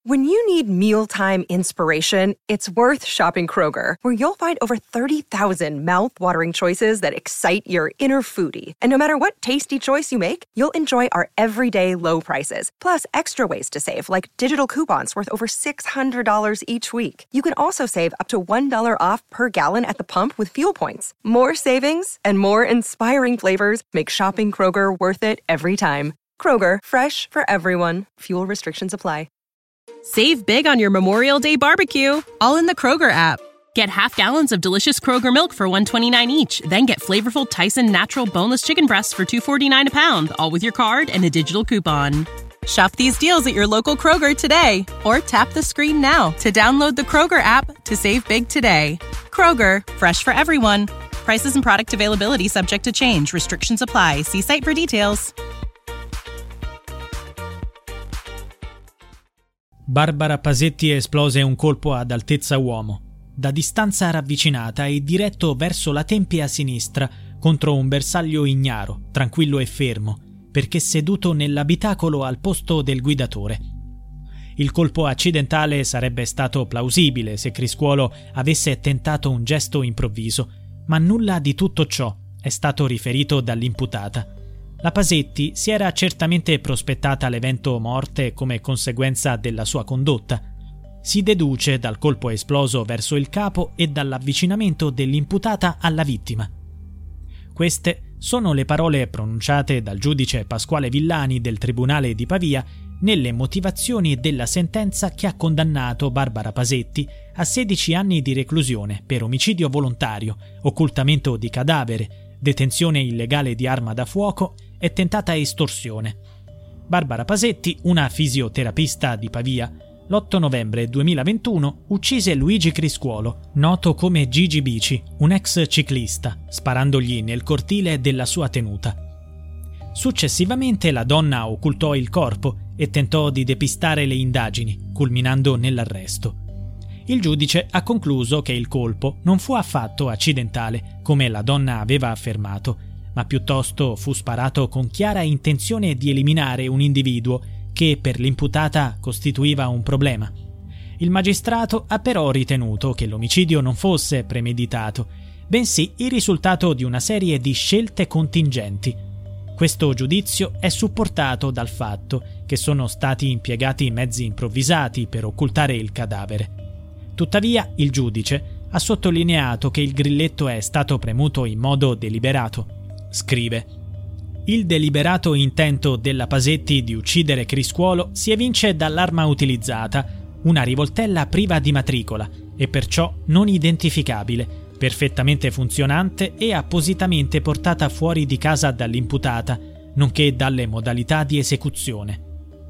When you need mealtime inspiration, it's worth shopping Kroger, where you'll find over 30,000 mouth-watering choices that excite your inner foodie. And no matter what tasty choice you make, you'll enjoy our everyday low prices, plus extra ways to save, like digital coupons worth over $600 each week. You can also save up to $1 off per gallon at the pump with fuel points. More savings and more inspiring flavors make shopping Kroger worth it every time. Kroger, fresh for everyone. Fuel restrictions apply. Save big on your Memorial Day barbecue, all in the Kroger app. Get half gallons of delicious Kroger milk for $1.29 each. Then get flavorful Tyson natural boneless chicken breasts for $2.49 a pound, all with your card and a digital coupon. Shop these deals at your local Kroger today, or tap the screen now to download the Kroger app to save big today. Kroger, fresh for everyone. Prices and product availability subject to change. Restrictions apply. See site for details. Barbara Pasetti esplose un colpo ad altezza uomo, da distanza ravvicinata e diretto verso la tempia sinistra contro un bersaglio ignaro, tranquillo e fermo, perché seduto nell'abitacolo al posto del guidatore. Il colpo accidentale sarebbe stato plausibile se Criscuolo avesse tentato un gesto improvviso, ma nulla di tutto ciò è stato riferito dall'imputata. La Pasetti si era certamente prospettata l'evento morte come conseguenza della sua condotta. Si deduce dal colpo esploso verso il capo e dall'avvicinamento dell'imputata alla vittima. Queste sono le parole pronunciate dal giudice Pasquale Villani del Tribunale di Pavia nelle motivazioni della sentenza che ha condannato Barbara Pasetti a 16 anni di reclusione per omicidio volontario, occultamento di cadavere, detenzione illegale di arma da fuoco e tentata estorsione. Barbara Pasetti, una fisioterapista di Pavia, l'8 novembre 2021 uccise Luigi Criscuolo, noto come Gigi Bici, un ex ciclista, sparandogli nel cortile della sua tenuta. Successivamente la donna occultò il corpo e tentò di depistare le indagini, culminando nell'arresto. Il giudice ha concluso che il colpo non fu affatto accidentale, come la donna aveva affermato, ma piuttosto fu sparato con chiara intenzione di eliminare un individuo che per l'imputata costituiva un problema. Il magistrato ha però ritenuto che l'omicidio non fosse premeditato, bensì il risultato di una serie di scelte contingenti. Questo giudizio è supportato dal fatto che sono stati impiegati mezzi improvvisati per occultare il cadavere. Tuttavia, il giudice ha sottolineato che il grilletto è stato premuto in modo deliberato. Scrive: il deliberato intento della Pasetti di uccidere Criscuolo si evince dall'arma utilizzata, una rivoltella priva di matricola e perciò non identificabile, perfettamente funzionante e appositamente portata fuori di casa dall'imputata, nonché dalle modalità di esecuzione.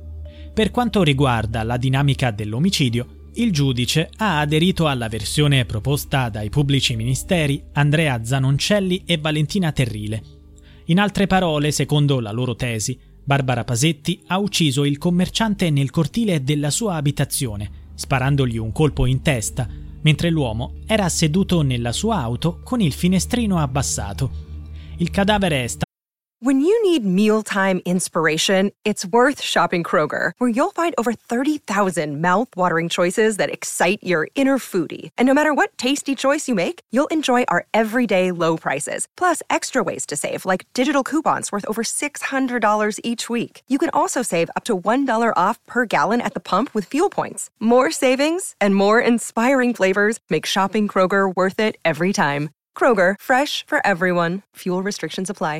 Per quanto riguarda la dinamica dell'omicidio, il giudice ha aderito alla versione proposta dai pubblici ministeri Andrea Zanoncelli e Valentina Terrile. In altre parole, secondo la loro tesi, Barbara Pasetti ha ucciso il commerciante nel cortile della sua abitazione, sparandogli un colpo in testa, mentre l'uomo era seduto nella sua auto con il finestrino abbassato. Il cadavere è stato... When you need mealtime inspiration, it's worth shopping Kroger, where you'll find over 30,000 mouth-watering choices that excite your inner foodie. And no matter what tasty choice you make, you'll enjoy our everyday low prices, plus extra ways to save, like digital coupons worth over $600 each week. You can also save up to $1 off per gallon at the pump with fuel points. More savings and more inspiring flavors make shopping Kroger worth it every time. Kroger, fresh for everyone. Fuel restrictions apply.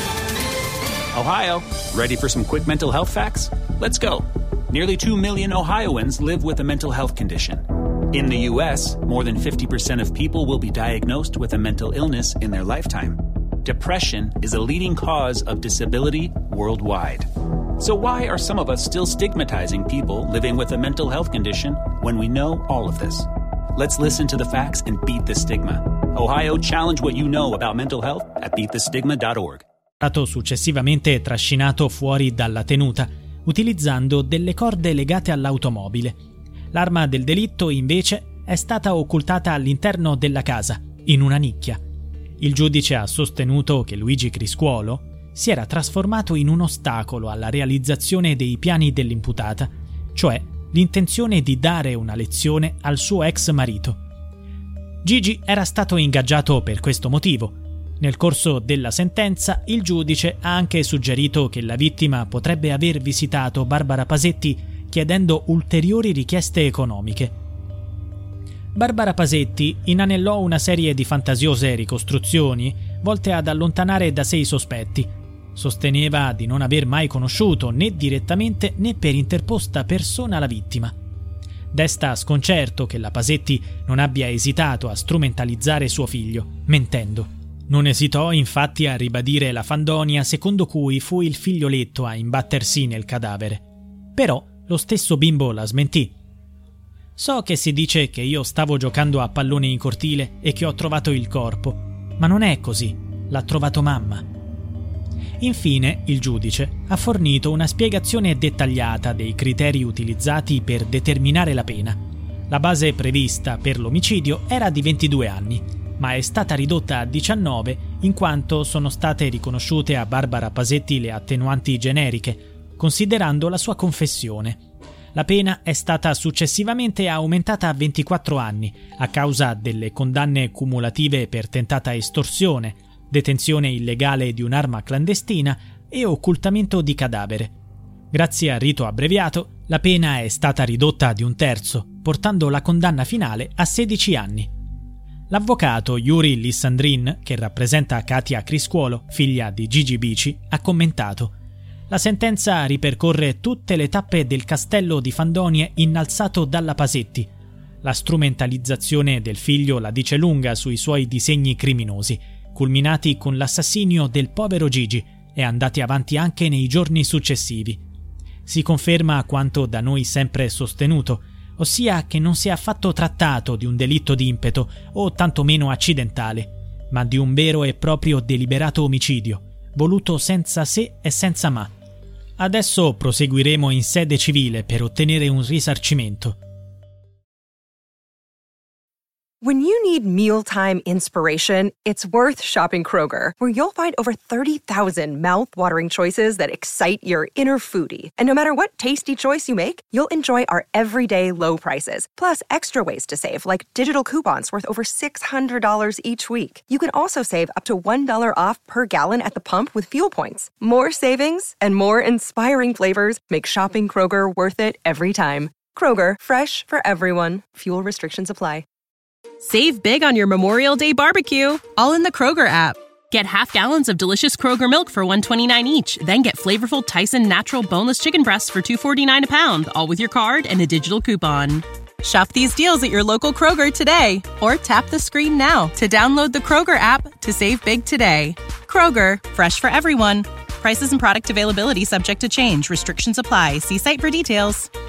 Ohio, ready for some quick mental health facts? Let's go. Nearly 2 million Ohioans live with a mental health condition. In the U.S., more than 50% of people will be diagnosed with a mental illness in their lifetime. Depression is a leading cause of disability worldwide. So why are some of us still stigmatizing people living with a mental health condition when we know all of this? Let's listen to the facts and beat the stigma. Ohio, challenge what you know about mental health at beatthestigma.org. È stato successivamente trascinato fuori dalla tenuta, utilizzando delle corde legate all'automobile. L'arma del delitto, invece, è stata occultata all'interno della casa, in una nicchia. Il giudice ha sostenuto che Luigi Criscuolo si era trasformato in un ostacolo alla realizzazione dei piani dell'imputata, cioè l'intenzione di dare una lezione al suo ex marito. Gigi era stato ingaggiato per questo motivo. Nel corso della sentenza, il giudice ha anche suggerito che la vittima potrebbe aver visitato Barbara Pasetti chiedendo ulteriori richieste economiche. Barbara Pasetti inanellò una serie di fantasiose ricostruzioni volte ad allontanare da sé i sospetti. Sosteneva di non aver mai conosciuto né direttamente né per interposta persona la vittima. Desta sconcerto che la Pasetti non abbia esitato a strumentalizzare suo figlio, mentendo. Non esitò infatti a ribadire la fandonia secondo cui fu il figlioletto a imbattersi nel cadavere. Però lo stesso bimbo la smentì. So che si dice che io stavo giocando a pallone in cortile e che ho trovato il corpo, ma non è così, l'ha trovato mamma. Infine, il giudice ha fornito una spiegazione dettagliata dei criteri utilizzati per determinare la pena. La base prevista per l'omicidio era di 22 anni, ma è stata ridotta a 19 in quanto sono state riconosciute a Barbara Pasetti le attenuanti generiche, considerando la sua confessione. La pena è stata successivamente aumentata a 24 anni a causa delle condanne cumulative per tentata estorsione, detenzione illegale di un'arma clandestina e occultamento di cadavere. Grazie al rito abbreviato, la pena è stata ridotta di un terzo, portando la condanna finale a 16 anni. L'avvocato Yuri Lissandrin, che rappresenta Katia Criscuolo, figlia di Gigi Bici, ha commentato: la sentenza ripercorre tutte le tappe del castello di fandonie innalzato dalla Pasetti. La strumentalizzazione del figlio la dice lunga sui suoi disegni criminosi, culminati con l'assassinio del povero Gigi e andati avanti anche nei giorni successivi. Si conferma quanto da noi sempre sostenuto, ossia che non si è affatto trattato di un delitto di impeto o tantomeno accidentale, ma di un vero e proprio deliberato omicidio, voluto senza se e senza ma. Adesso proseguiremo in sede civile per ottenere un risarcimento. When you need mealtime inspiration, it's worth shopping Kroger, where you'll find over 30,000 mouth-watering choices that excite your inner foodie. And no matter what tasty choice you make, you'll enjoy our everyday low prices, plus extra ways to save, like digital coupons worth over $600 each week. You can also save up to $1 off per gallon at the pump with fuel points. More savings and more inspiring flavors make shopping Kroger worth it every time. Kroger, fresh for everyone. Fuel restrictions apply. Save big on your Memorial Day barbecue, all in the Kroger app. Get half gallons of delicious Kroger milk for $1.29 each. Then get flavorful Tyson natural boneless chicken breasts for $2.49 a pound, all with your card and a digital coupon. Shop these deals at your local Kroger today, or tap the screen now to download the Kroger app to save big today. Kroger, fresh for everyone. Prices and product availability subject to change. Restrictions apply. See site for details.